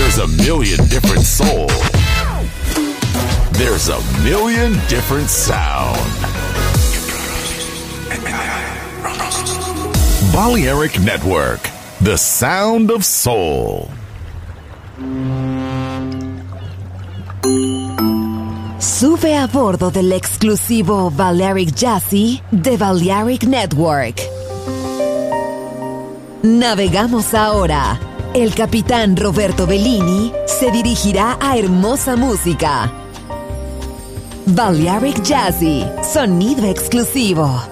There's a million different soul. There's a million different sound. Balearic Network, the sound of soul. Sube a bordo del exclusivo Balearic Jazzy de Balearic Network. Navegamos ahora. El capitán Roberto Bellini se dirigirá a hermosa música. Balearic Jazzy, sonido exclusivo.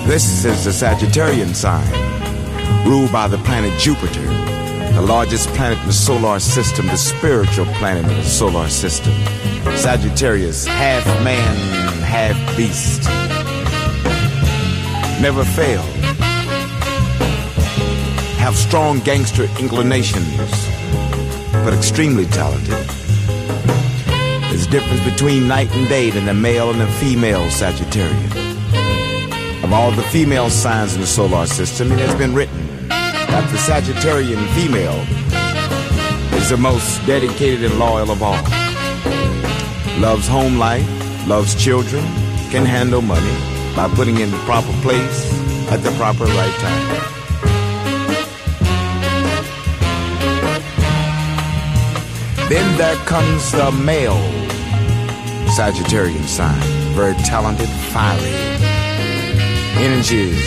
This is the Sagittarian sign, ruled by the planet Jupiter, the largest planet in the solar system, the spiritual planet in the solar system. Sagittarius, half man, half beast. Never fail. Have strong gangster inclinations, but extremely talented. There's a difference between night and day than the male and the female Sagittarian. Of all the female signs in the solar system, it has been written that the Sagittarian female is the most dedicated and loyal of all. Loves home life, loves children, can handle money by putting in the proper place at the proper right time. Then there comes the male Sagittarian sign, very talented, fiery. Energies.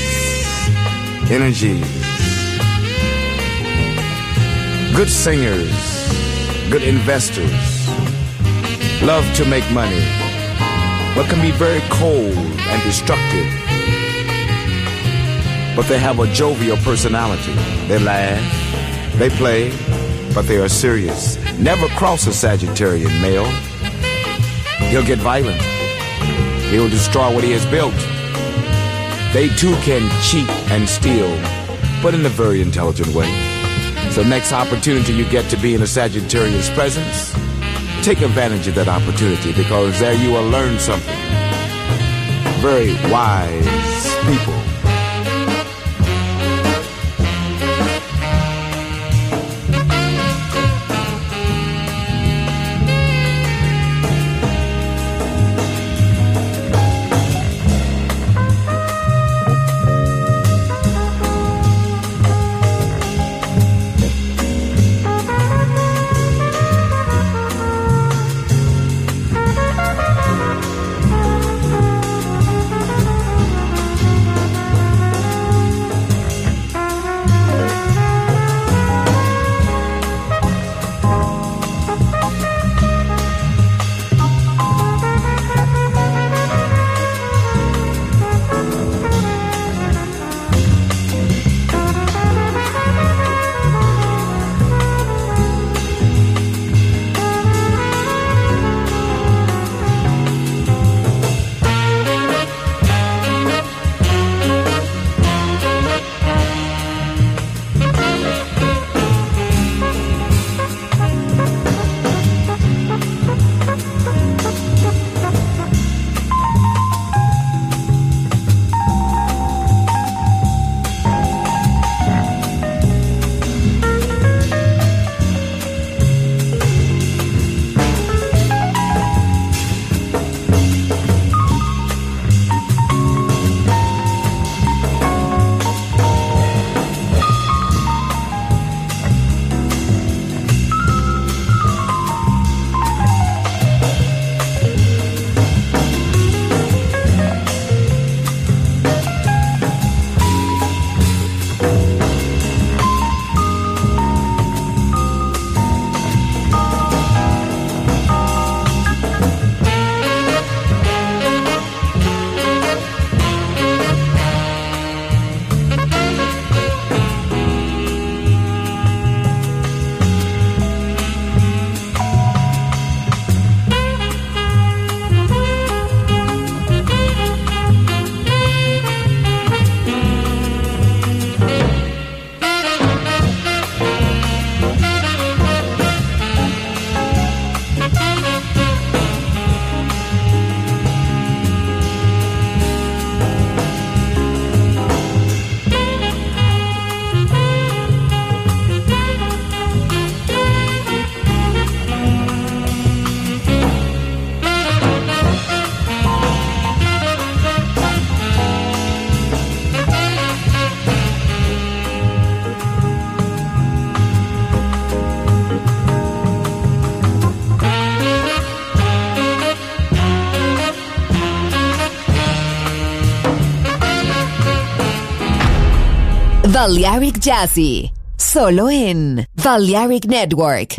Good singers, good investors, love to make money, but can be very cold and destructive. But they have a jovial personality. They laugh, they play, but they are serious. Never cross a Sagittarian male. He'll get violent. He'll destroy what he has built. They too can cheat and steal, but in a very intelligent way. So next opportunity you get to be in a Sagittarian's presence, take advantage of that opportunity, because there you will learn something. Very wise people. Balearic Jazzy, solo en Balearic Network.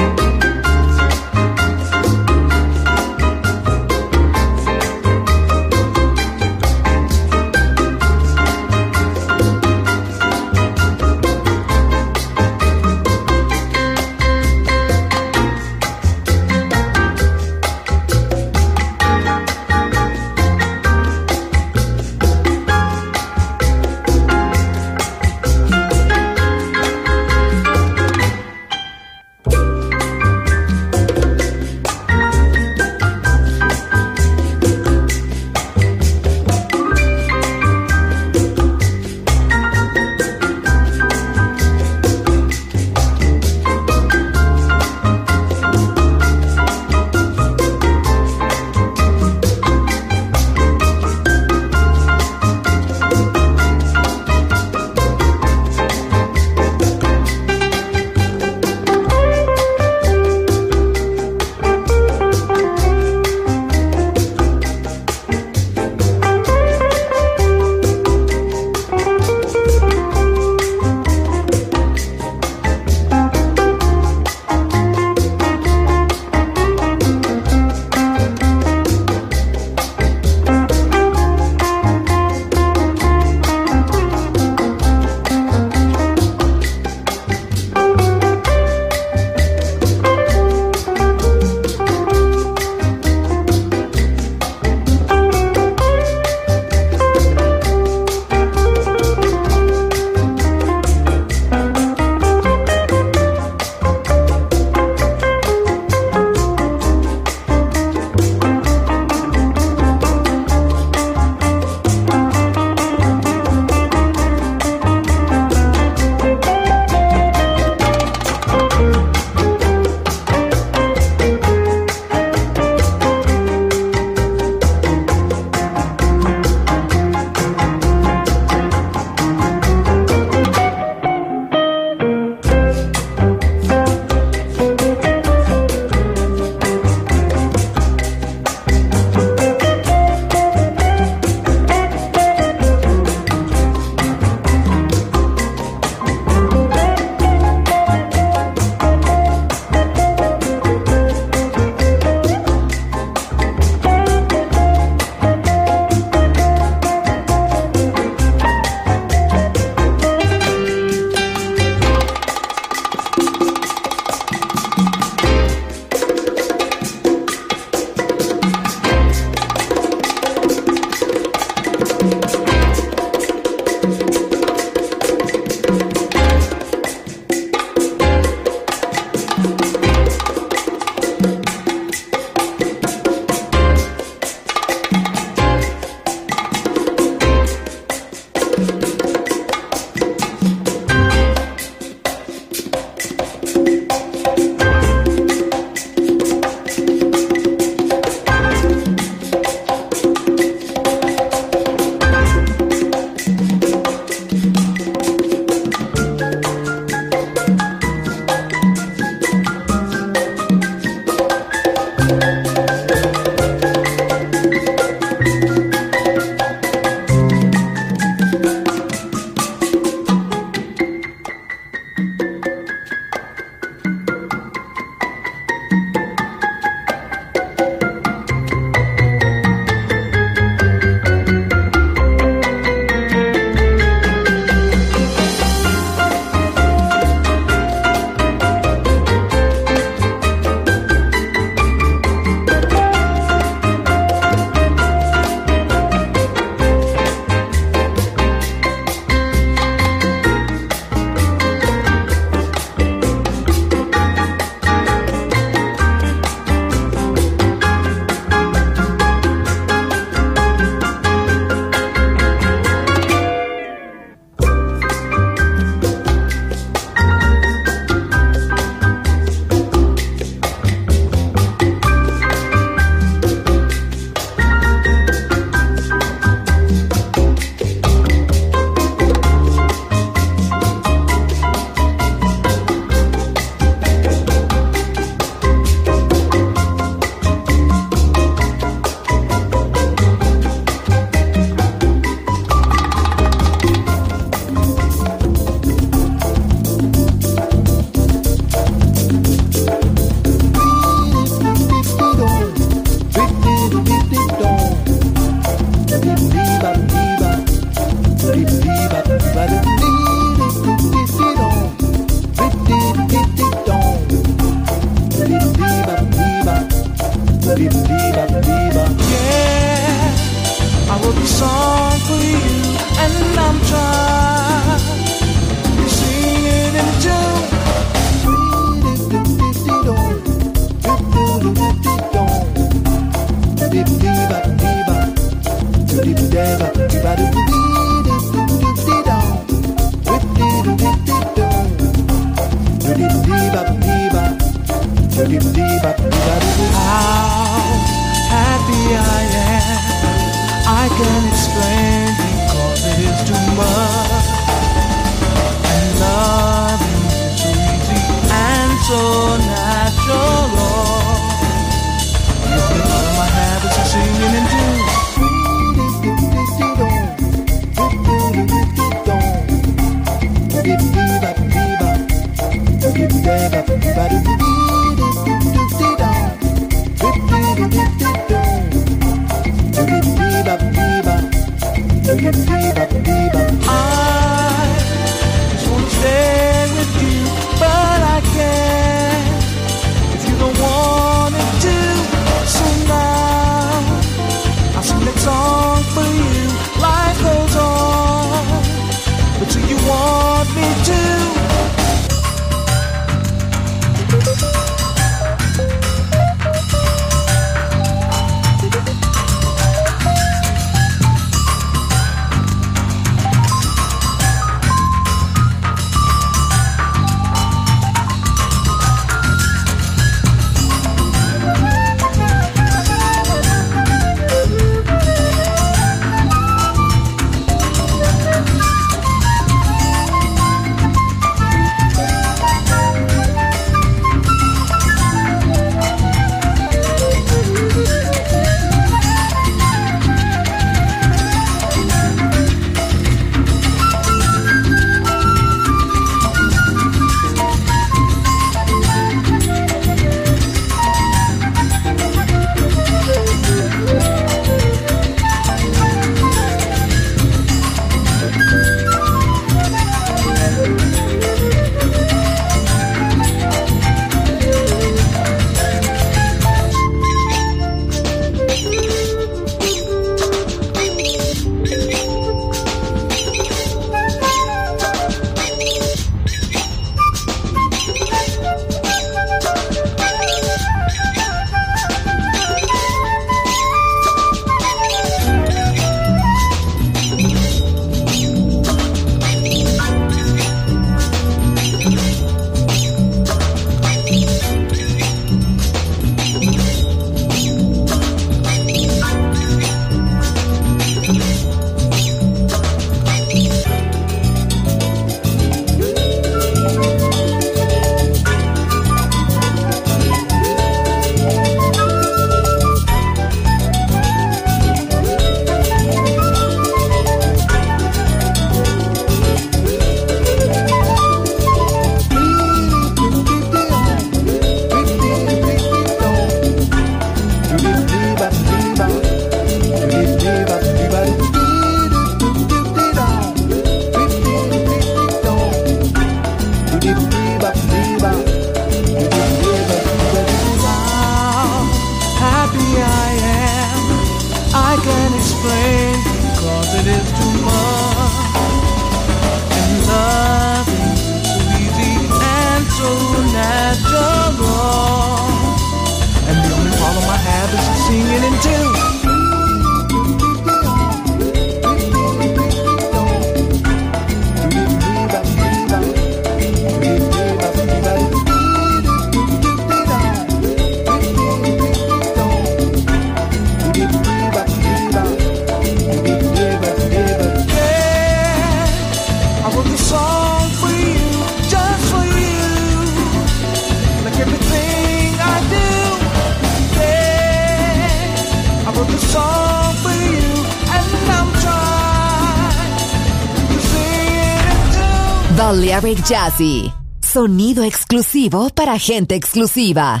Balearic Jazzy. Sonido exclusivo para gente exclusiva.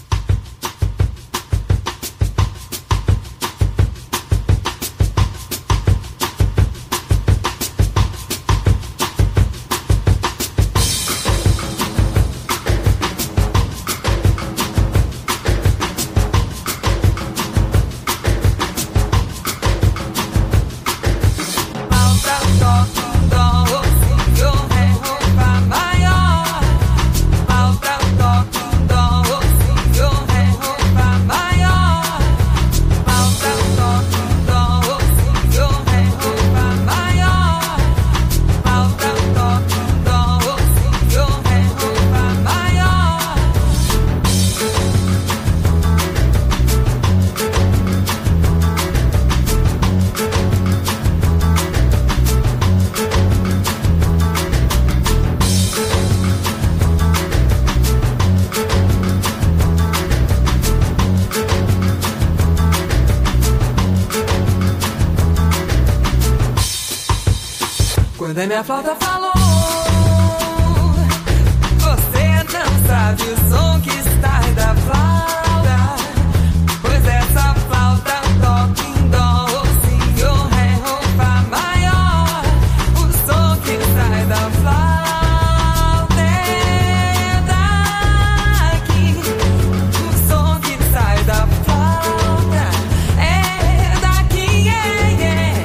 Quando a minha flauta falou, você não sabe o som que está da flauta, pois essa flauta toca em dó, si, o, ré, o, fá maior. O som que sai da flauta é daqui. O som que sai da flauta é daqui, yeah, yeah.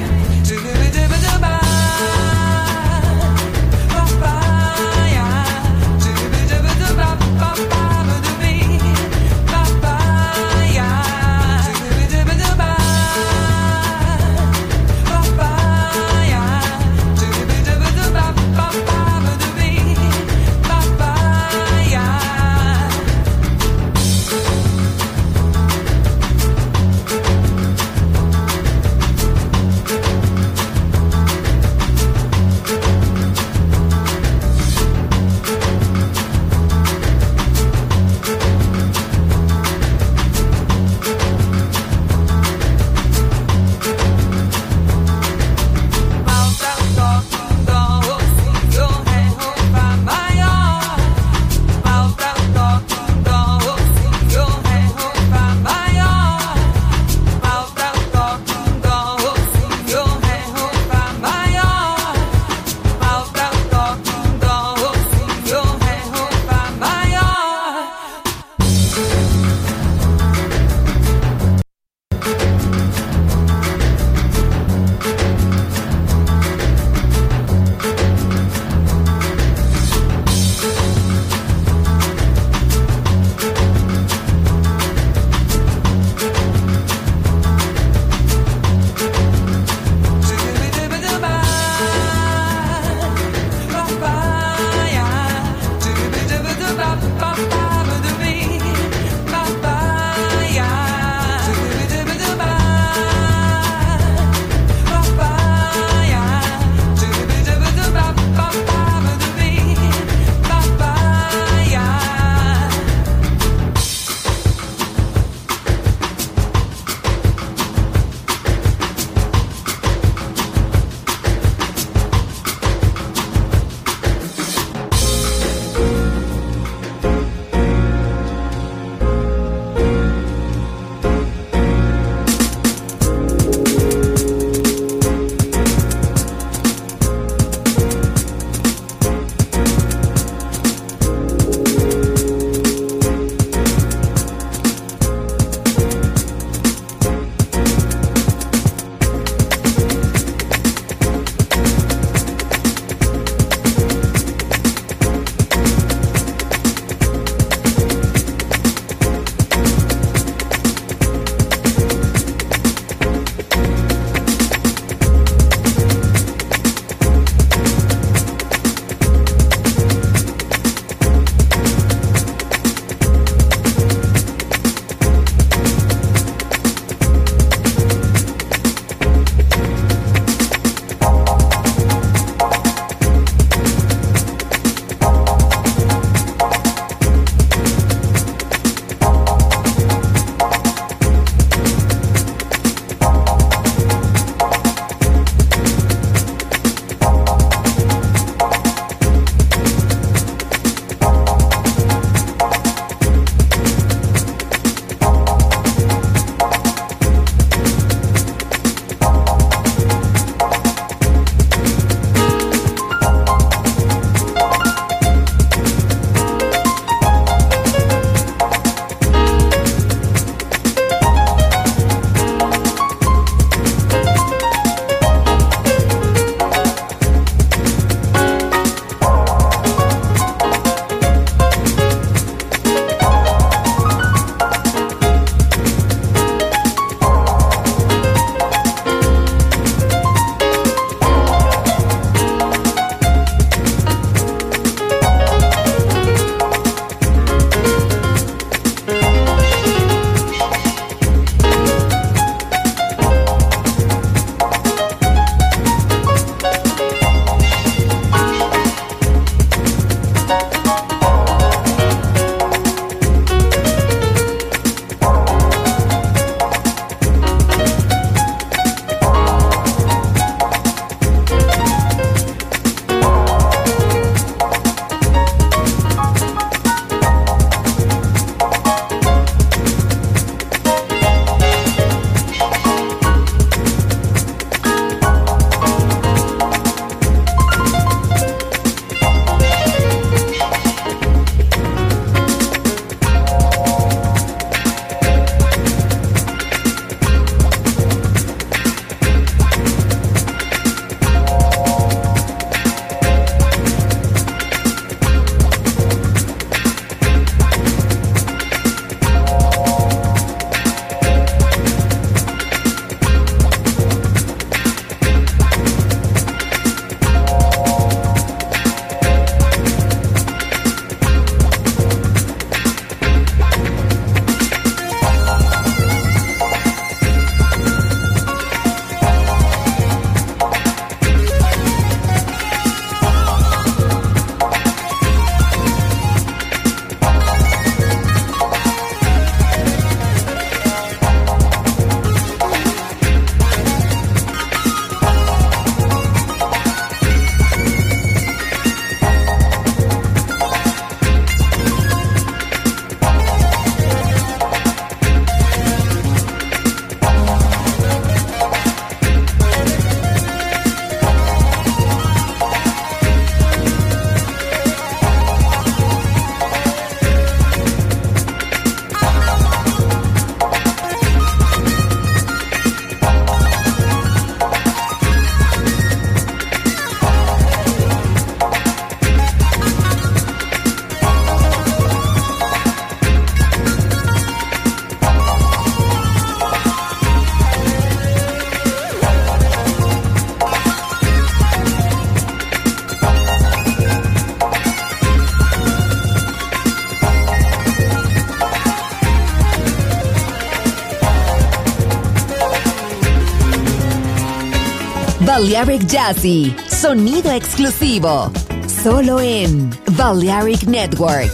Balearic Jazzy, sonido exclusivo, solo en Balearic Network.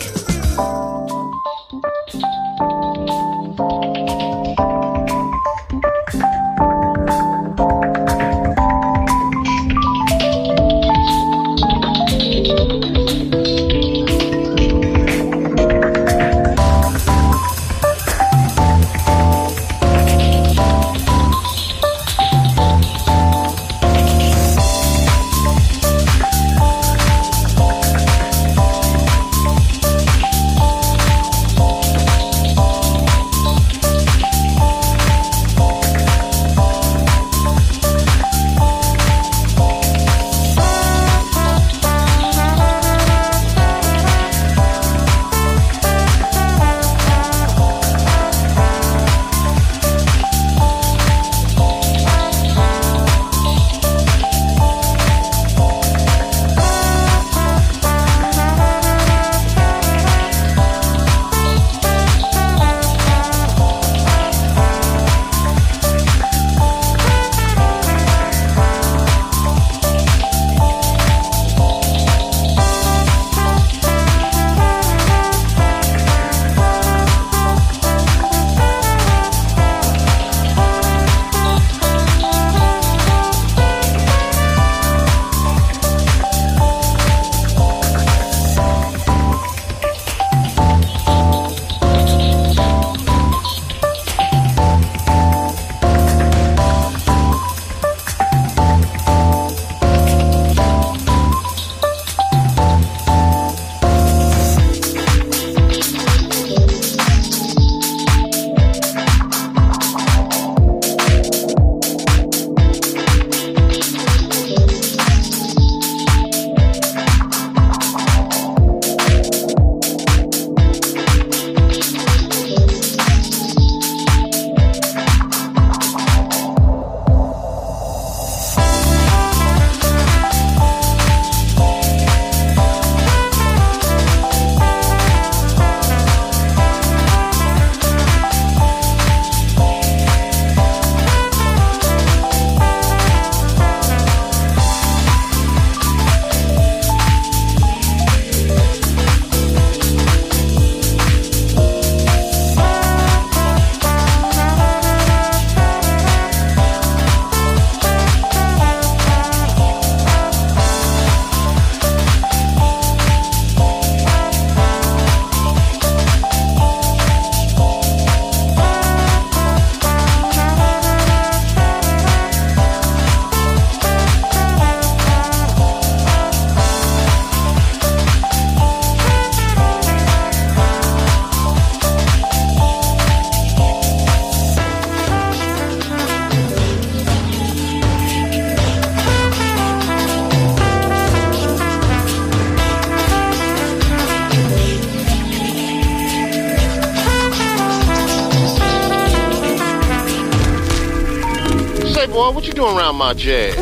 Boy, what you doing around my jazz?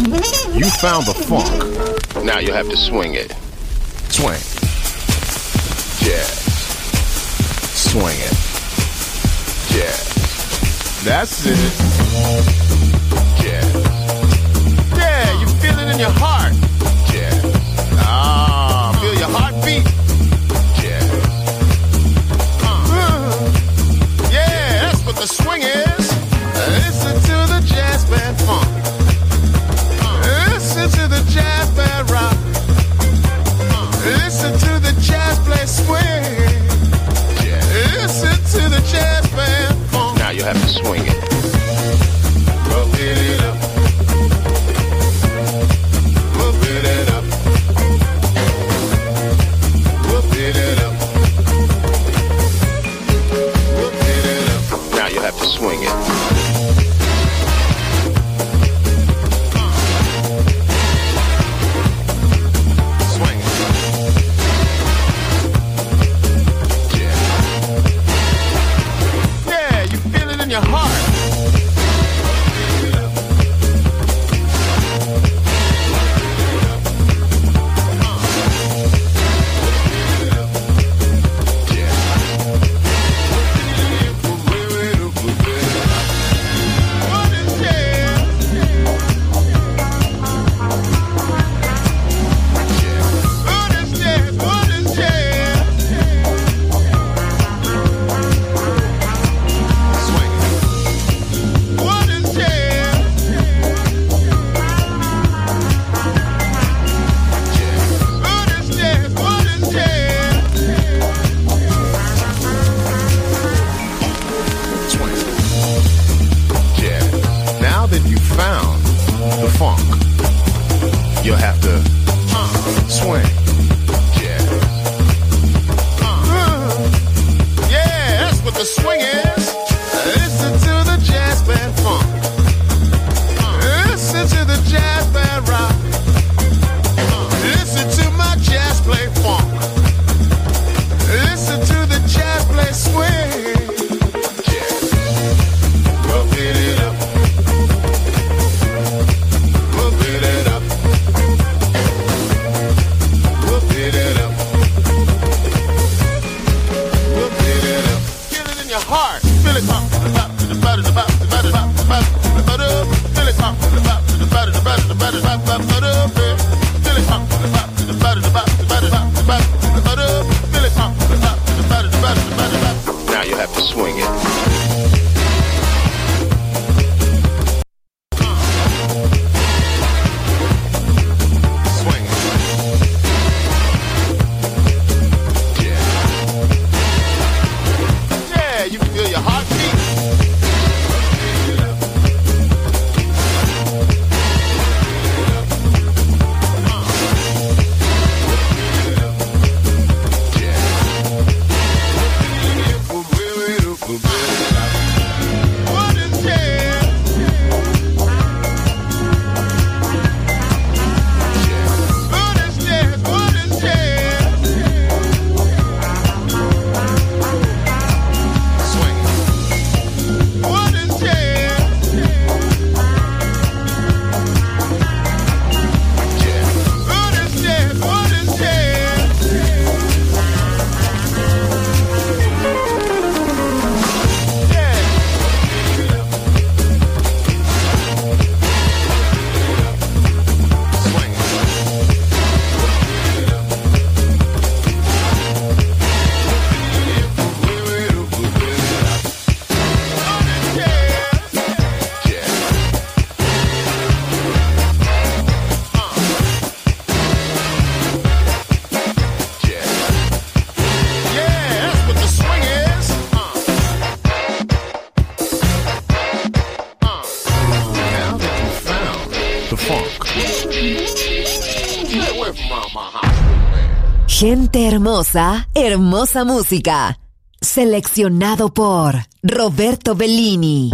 You found the funk. Now you have to swing it. Swing. Jazz. Swing it. Jazz. That's it. Jazz. Yeah, you feel it in your heart. Jazz. Feel your heartbeat. Jazz. Yeah, that's what the swing is. Listen to the jazz band funk. Listen to the jazz band rock. Listen to the jazz play swing. Listen to the jazz band funk. Now you have to swing it. Move it up. Move Swing. Jazz. Yeah, that's what the swing is. Listen to the jazz band funk. Listen to the jazz band rock. Listen to my jazz play funk. Listen to the jazz play swing. Jazz. We'll beat it up. We'll beat it up. We'll beat it up. We'll beat it up. Feel it in your heart. Feel it pop to the top, to the bottom, to the bottom, to the bottom, to the bottom, to the bottom. Feel it pop to the top, to the bottom, to the bottom, to the bottom, to the bottom, to the bottom. Feel it pop to the top, to the bottom, to the bottom, to the bottom, to the bottom, to the bottom. Feel it pop to the top, to the bottom, to the bottom, to the bottom, to the bottom. Now you have to swing it. Swing it. Jazz. Yeah, you can feel your heartbeat. What is jazz? What is jazz? What is jazz? Swing it. What is jazz? Jazz. What is jazz? What is jazz? Swing Jazz. Jazz. Yeah, that's what the swing is. Now that you found the funk. Get away from my hospital, man. Gente hermosa, hermosa música. Seleccionado por Roberto Bellini.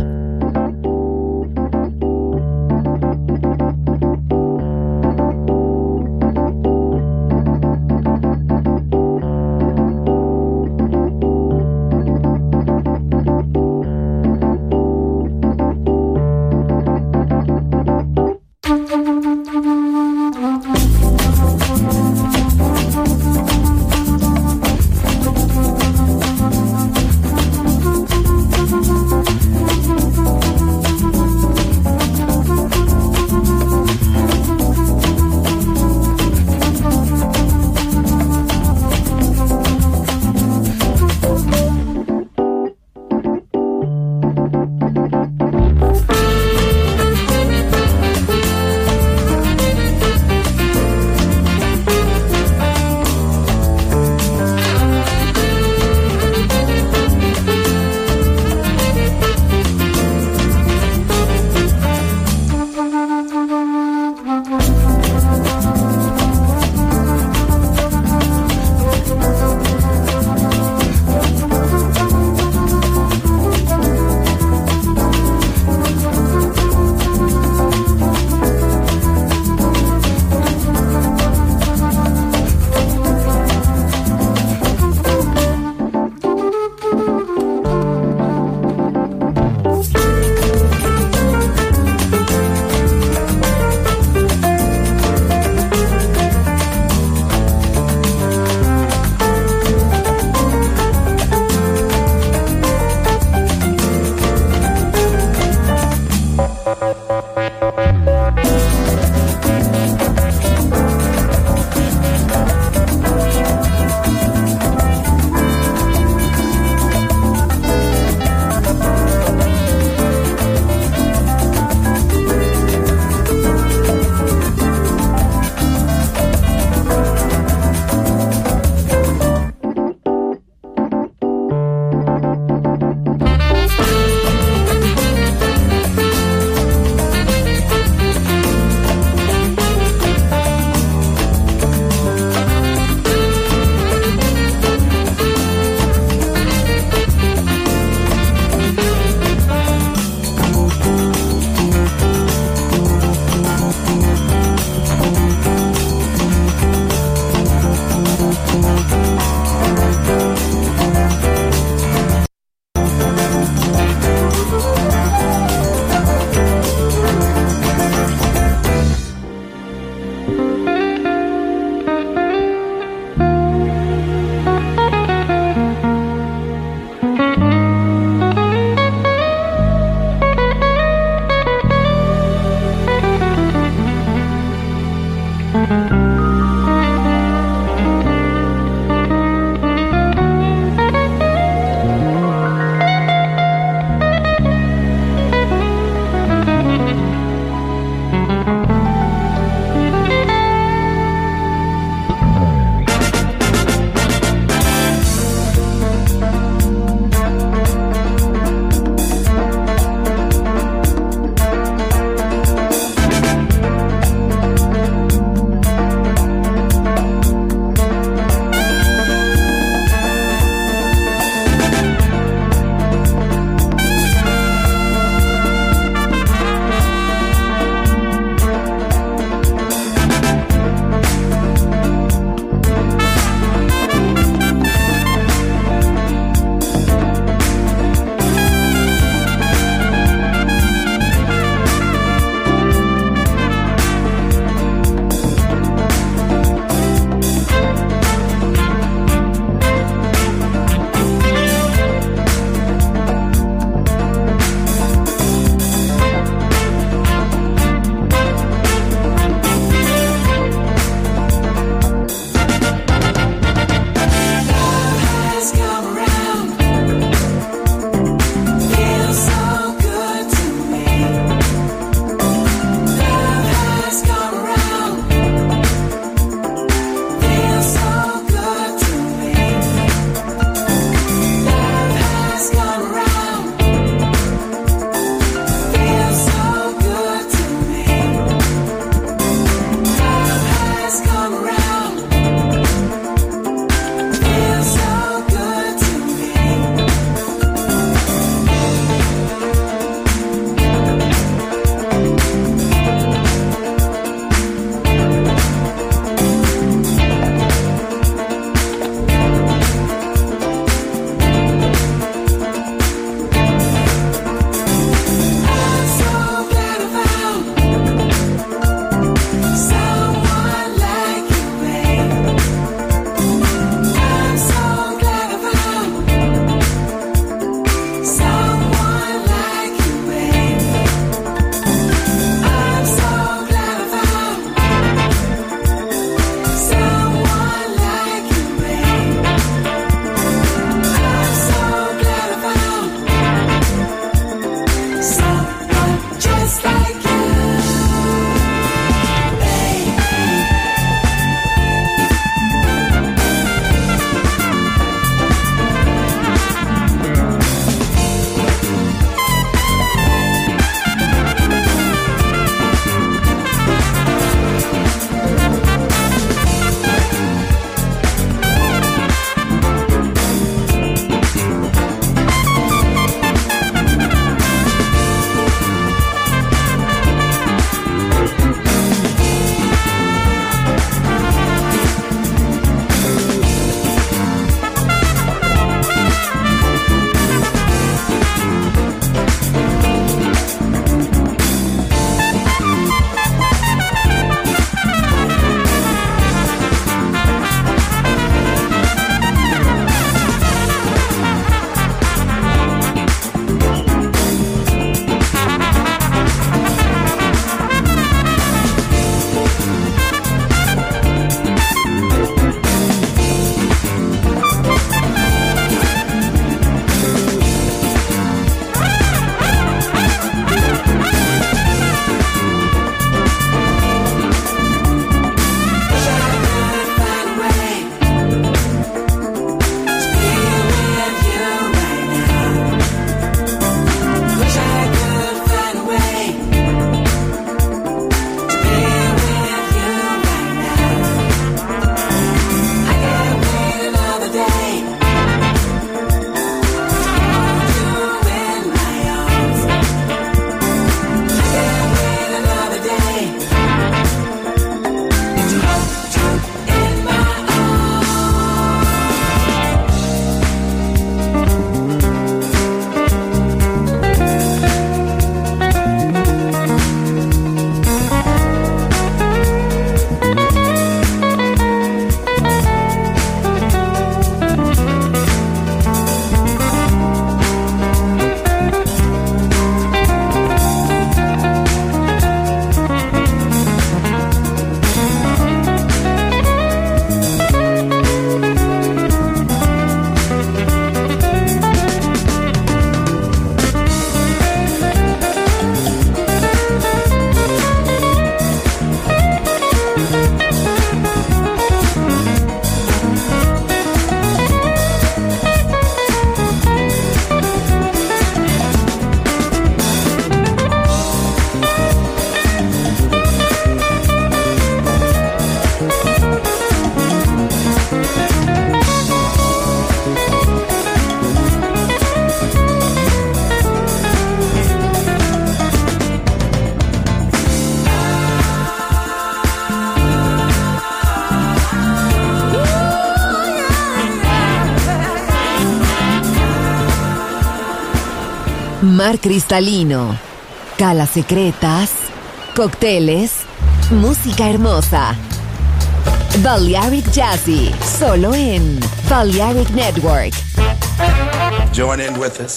mar cristalino, calas secretas, cócteles, música hermosa. Balearic Jazzy, solo en Balearic Network. Join in with us.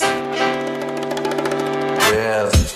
Yes.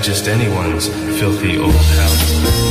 just anyone's filthy old house.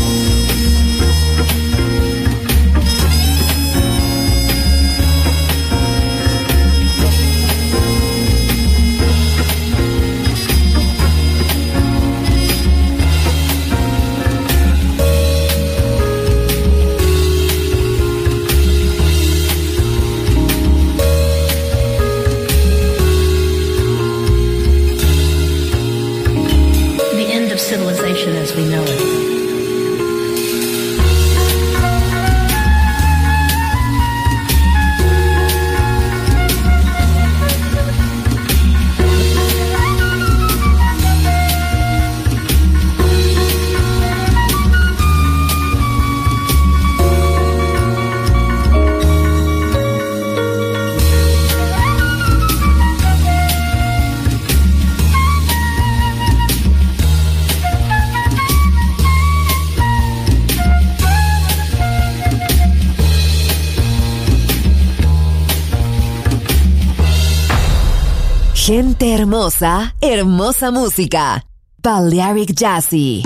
Civilization as we know it. Gente hermosa, hermosa música. Balearic Jazzy.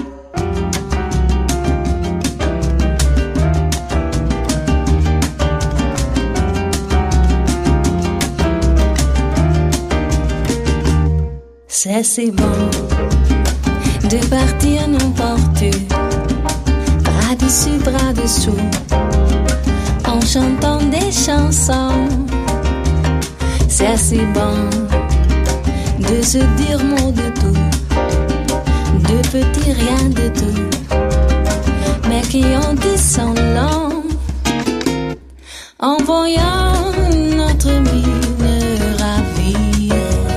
C'est si bon de partir n'importe où, bras dessus, bras dessous, en chantant des chansons. C'est si bon de se dire mot de tout, de petits rien de tout, mais qui ont dit son long, en voyant notre mine ravie,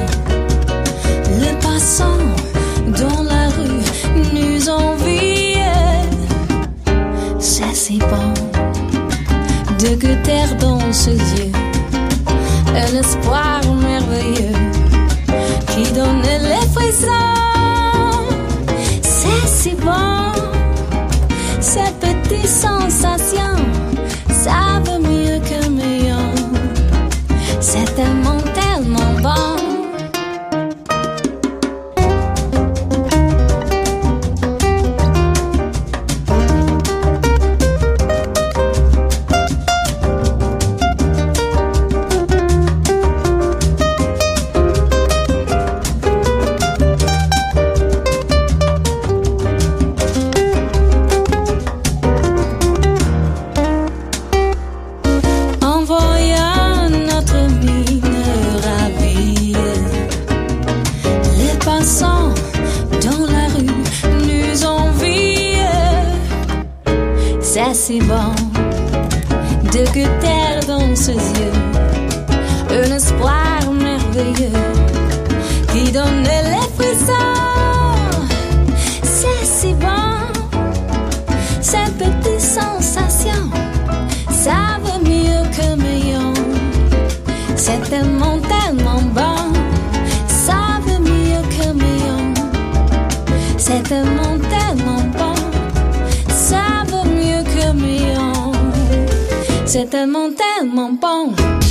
le passant dans la rue nous envie. C'est si bon de goûter dans ses yeux un espoir merveilleux qui donne les frissons. C'est si bon, ces petites sensations savent mieux que meilleur. C'est tellement, tellement bon. C'est si bon de goûter dans ses yeux un espoir merveilleux qui donne les frissons. C'est si bon, ces petites sensations savent mieux que meilleur. C'est tellement, tellement bon, savent mieux que meilleur. C'est tellement, tellement bon, savent mieux que meilleur. C'est tellement, tellement bon.